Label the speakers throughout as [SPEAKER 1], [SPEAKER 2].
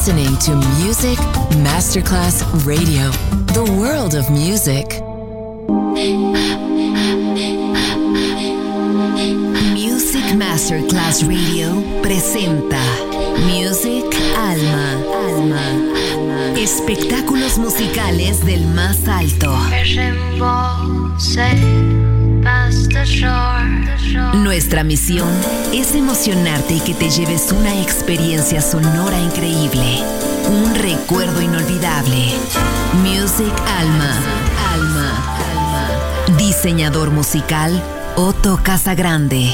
[SPEAKER 1] listening to Music Masterclass Radio, the world of music. Music Masterclass Radio presenta Music Alma. Espectáculos musicales del más alto. Nuestra misión es emocionarte y que te lleves una experiencia sonora increíble, un recuerdo inolvidable. Music Alma. Diseñador musical Otto Casagrande.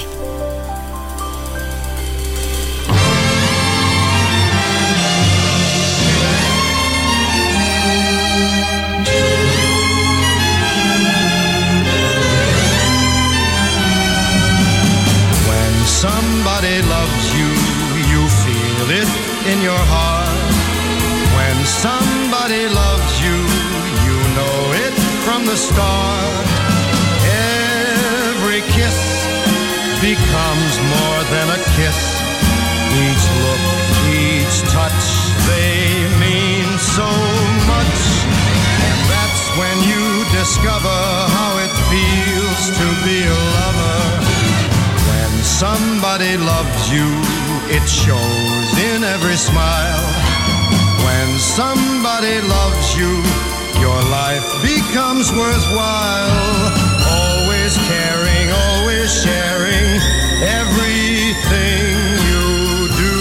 [SPEAKER 2] Somebody loves you, you feel it in your heart. When somebody loves you, you know it from the start. Every kiss becomes more than a kiss. Each look, each touch, they mean so much. And that's when you discover how it feels to be a lover. Somebody loves you, it shows in every smile. When somebody loves you, your life becomes worthwhile. Always caring, always sharing everything you do.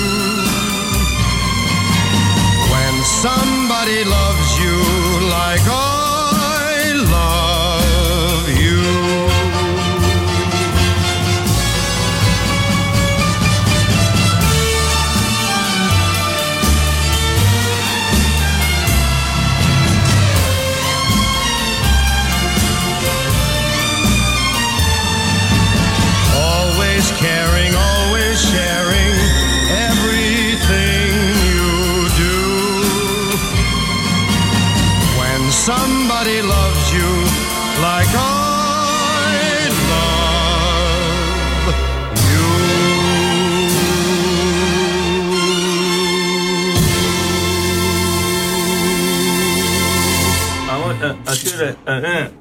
[SPEAKER 2] When somebody loves you like I love you. Caring, always sharing everything you do. When somebody loves you like I love you.
[SPEAKER 3] I want to do that.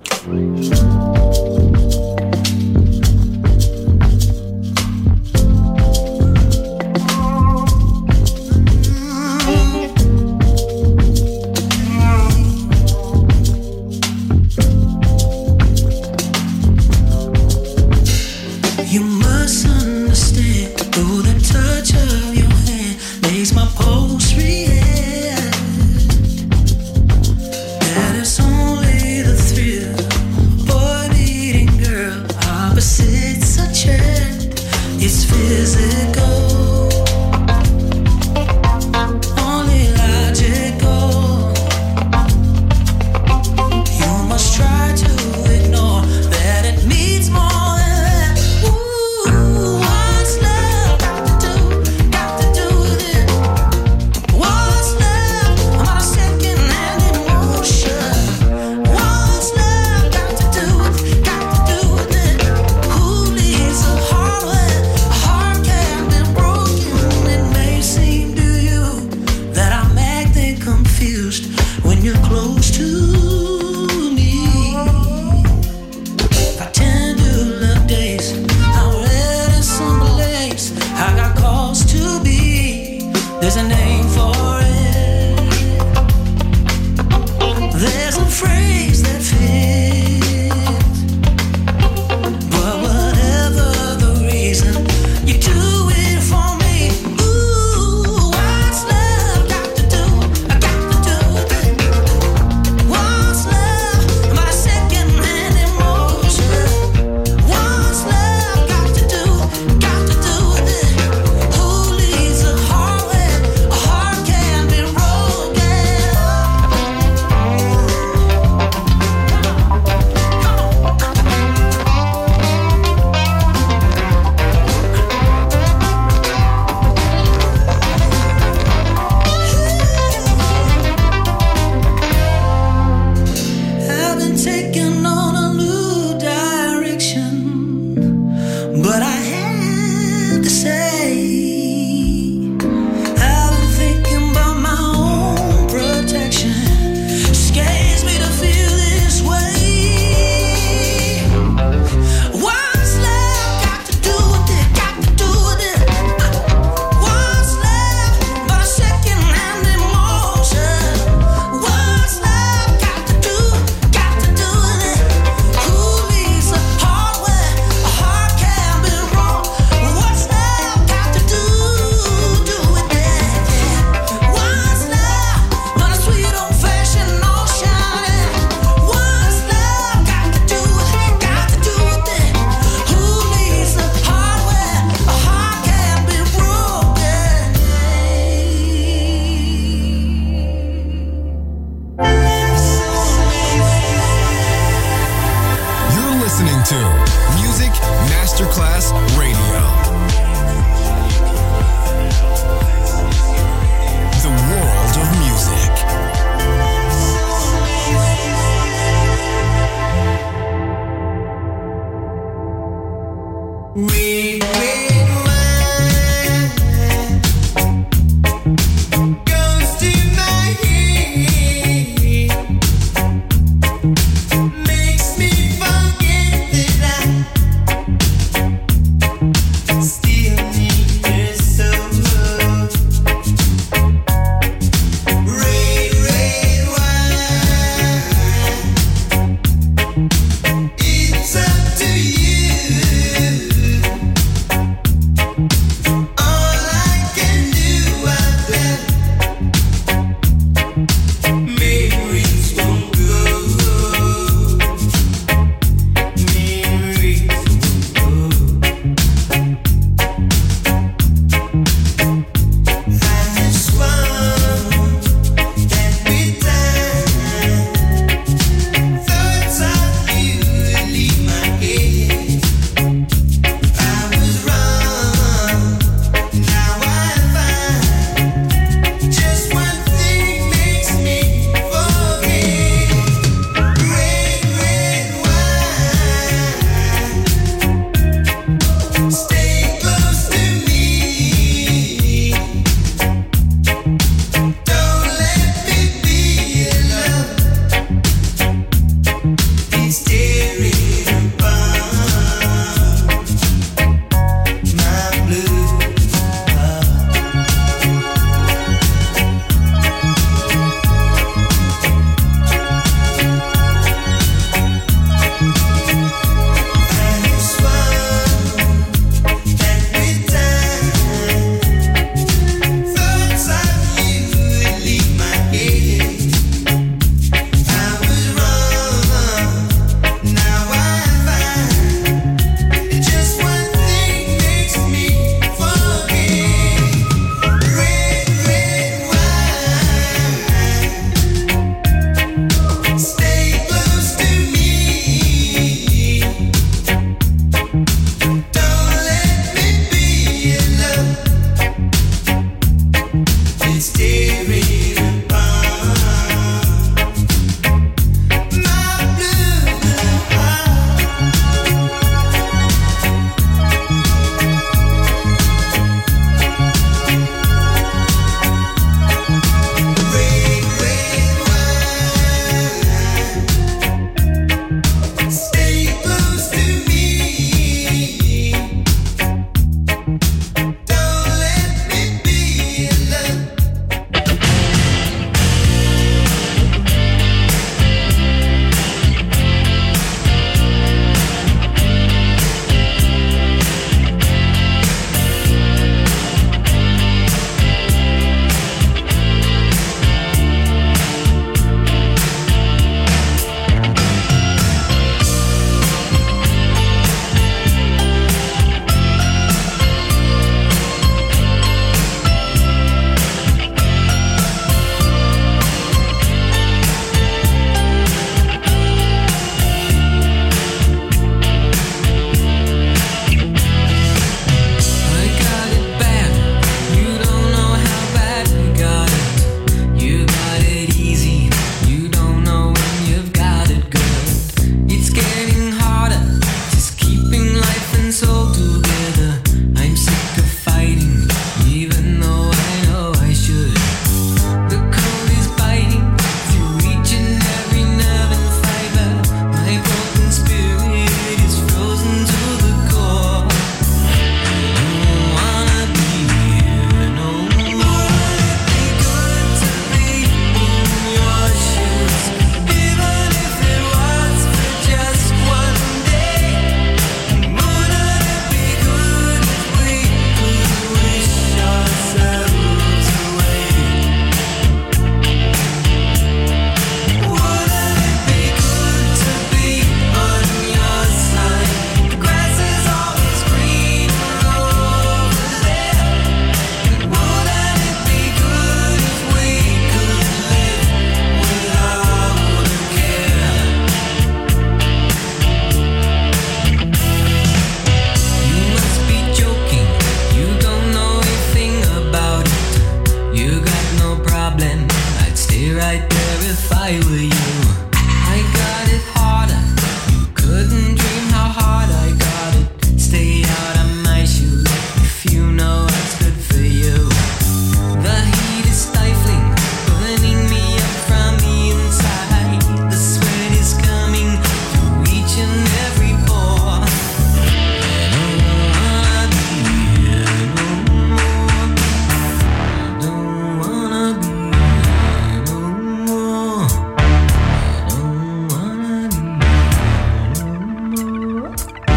[SPEAKER 4] right there if I were you. I got it harder, couldn't dream how hard I got it. Stay out of my shoes if you know what's good for you. The heat is stifling, burning me up from the inside. The sweat is coming through each and every pore. I don't wanna be here no more. I don't wanna be here no more. I don't wanna be here no more.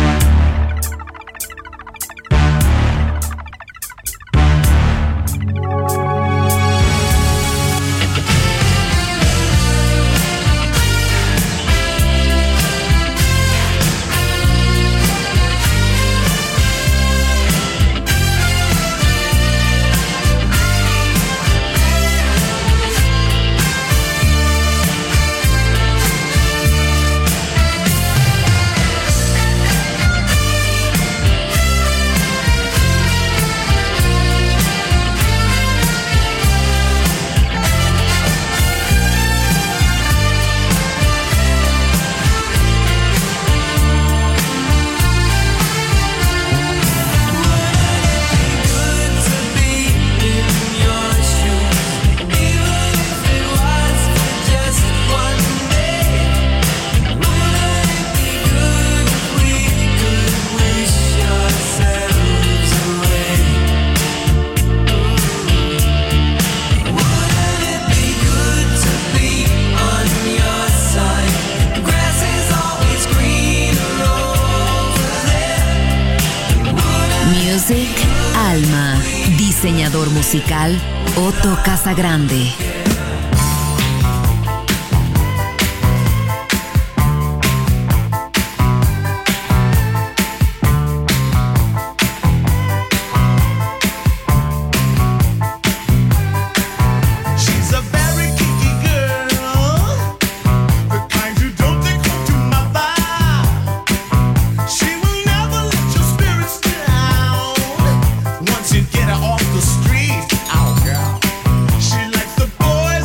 [SPEAKER 1] Music Alma. Diseñador musical Otto Casagrande.
[SPEAKER 2] She's a very kinky girl, the kind you don't take home to mother. She will never let your spirits down once you get her off the street. Oh, girl. She likes the boy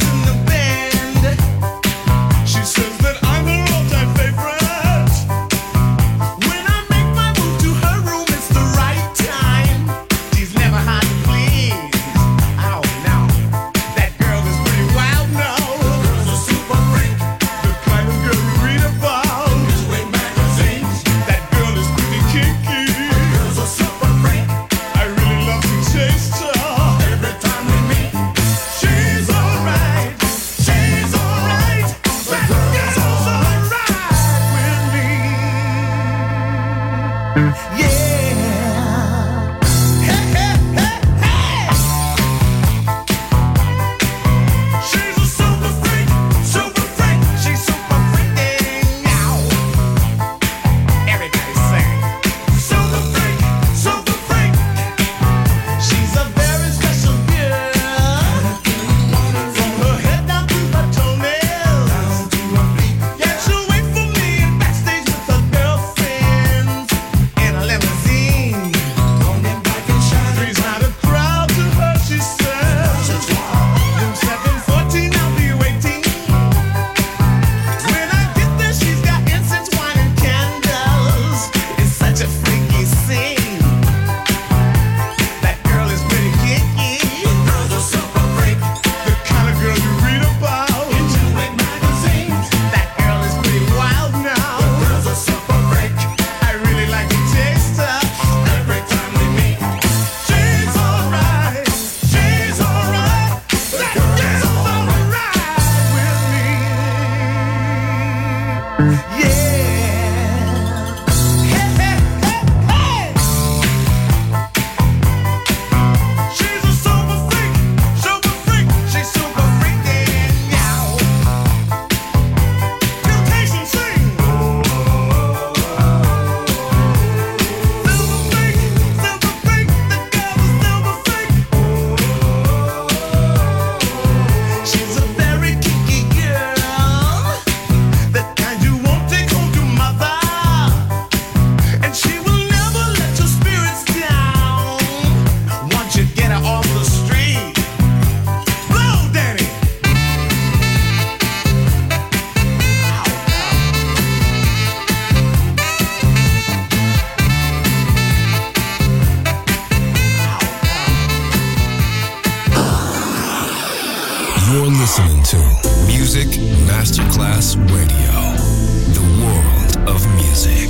[SPEAKER 5] You're listening to Music Masterclass Radio, the world of music.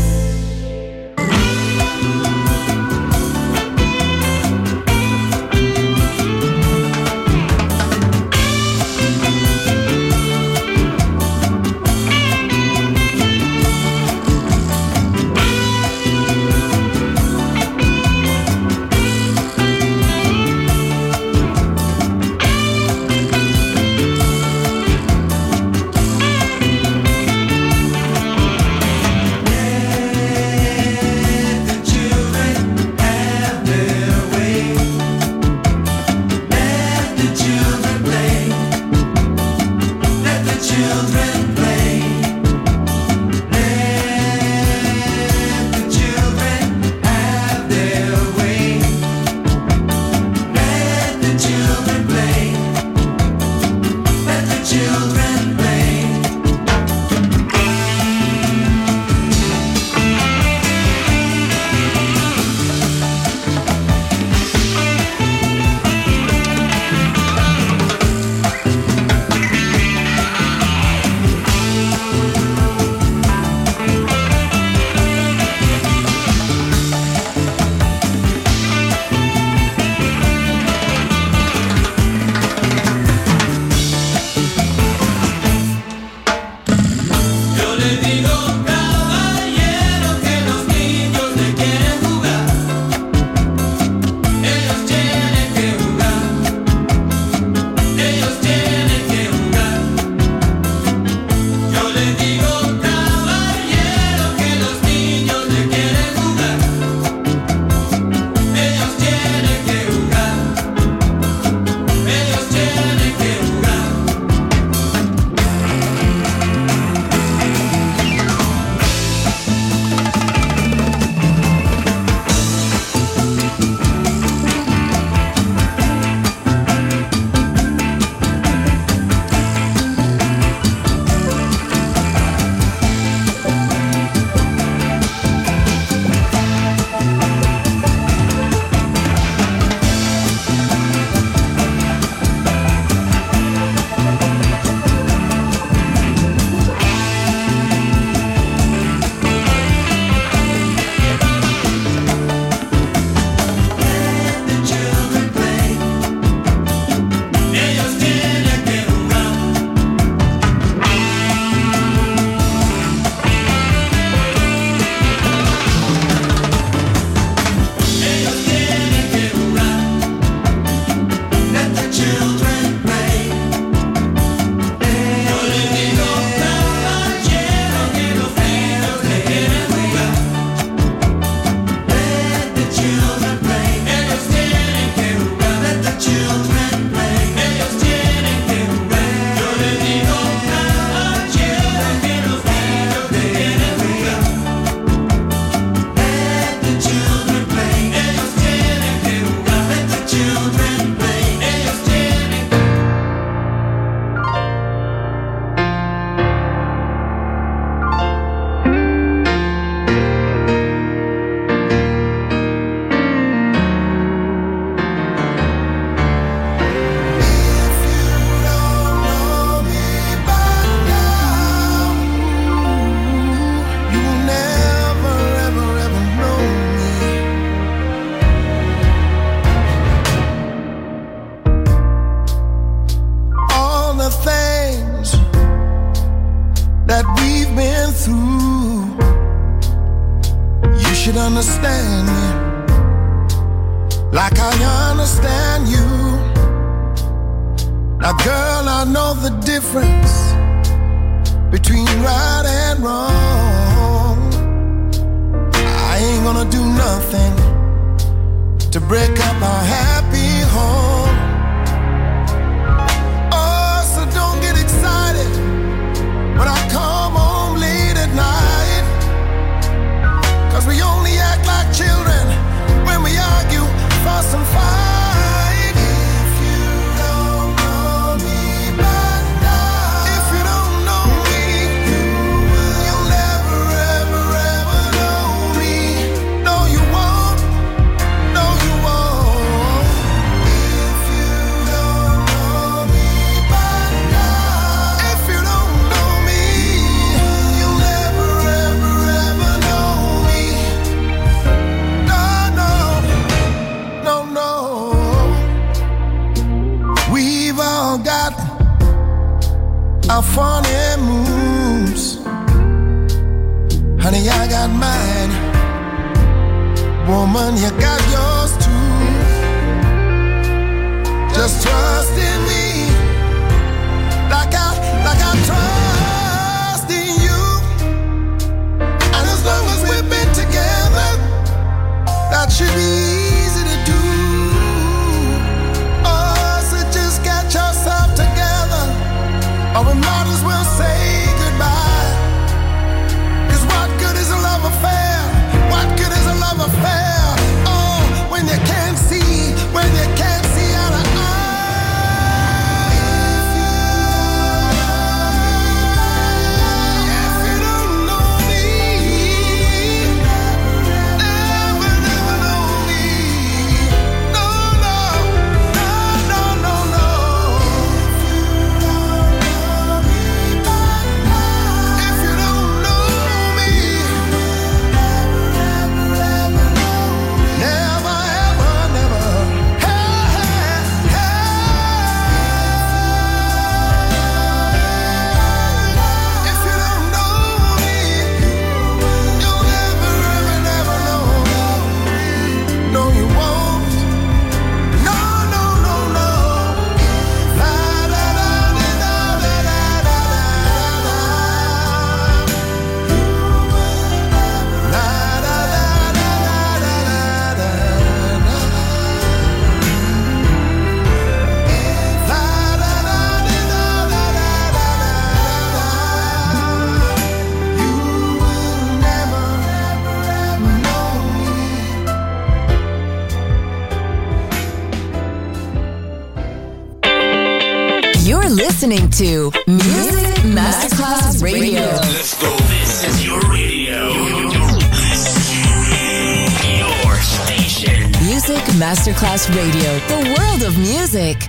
[SPEAKER 6] Understand me like I understand you. Now, girl, I know the difference between right and wrong. I ain't gonna do nothing to break up our happy home. Oh, so don't get excited when I come home late at night, 'cause we only act like children when we argue, fuss and fight. If you don't know me by now, if you don't know me, you'll never, ever, ever know me. No, you won't. No, you won't. If all got our funny moves. Honey, I got mine. Woman, you got yours too. Just trust in me, like I trust in you. And as long as we've been together, that should be easy to do. Oh, so just get yourself together, or we might as well say goodbye. 'Cause what good is a love affair? What good is a love affair? Oh, when you can't see, when you can't see eye to eye. If you don't know me, never, never know me. No, no, no, no, no, no. If you don't know me, never, ever, never. Hey, hey, hey. If you don't know me, you'll never, ever, never know me. No, you won't. No, no, no, no. La, la, la, la, la, la, la, la, la. La, la, la, la, la, la, la, la.
[SPEAKER 1] You're listening to Music Masterclass Radio.
[SPEAKER 7] Let's go. This is your radio. Your station.
[SPEAKER 1] Music Masterclass Radio, the world of music.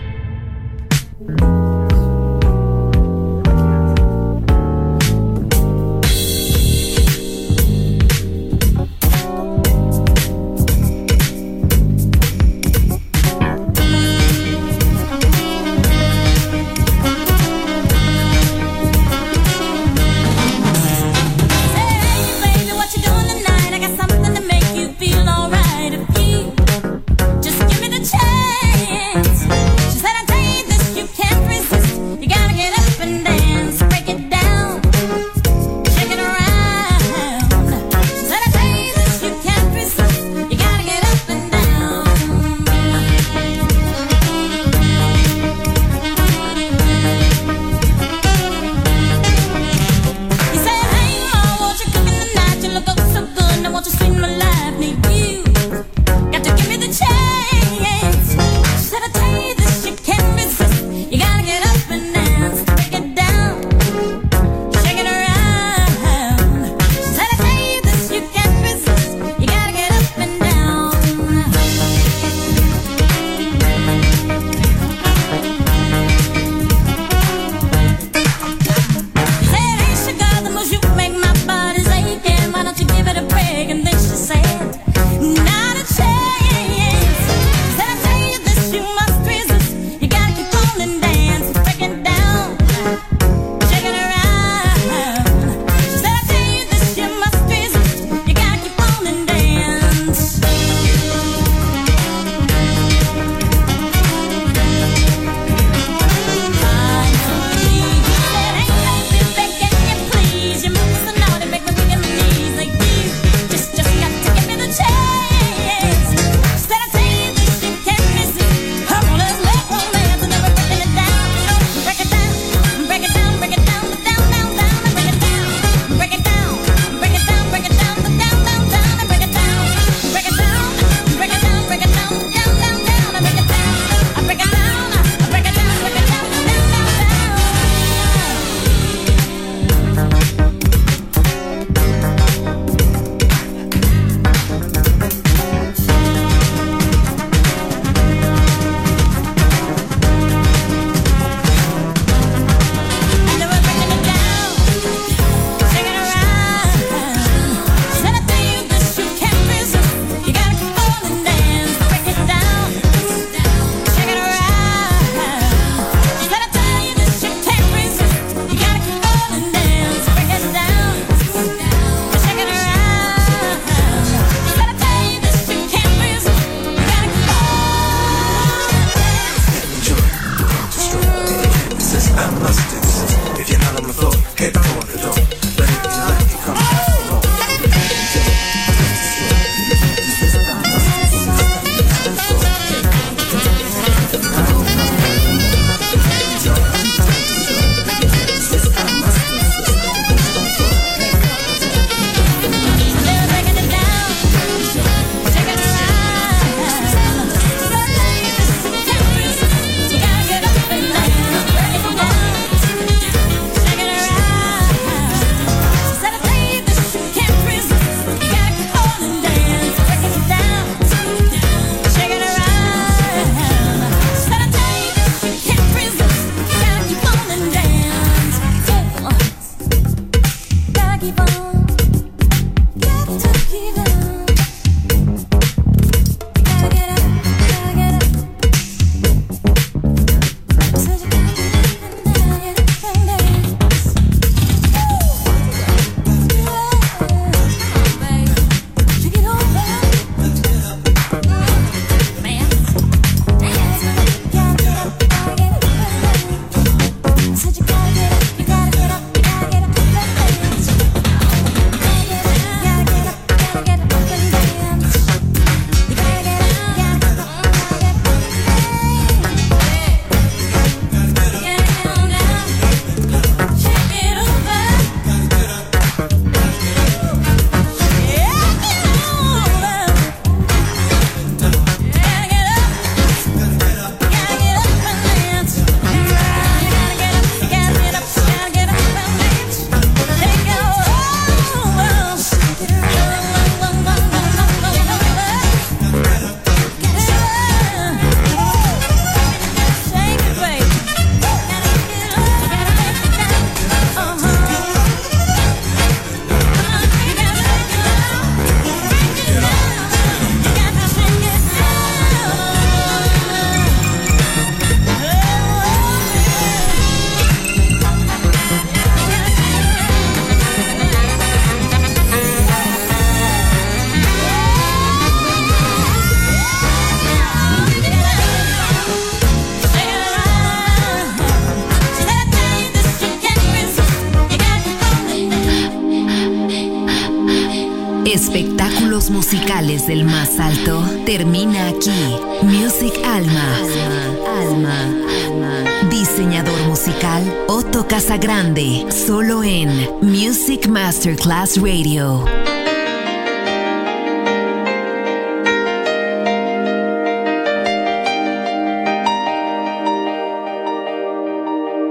[SPEAKER 8] Baby, what you doing tonight? I got something to make you feel alright. If you just give me the chance. She said, I tell you this, you can't resist.
[SPEAKER 1] Espectáculos musicales del más alto termina aquí. Music Alma. Diseñador musical Otto Casagrande, solo en Music Masterclass Radio.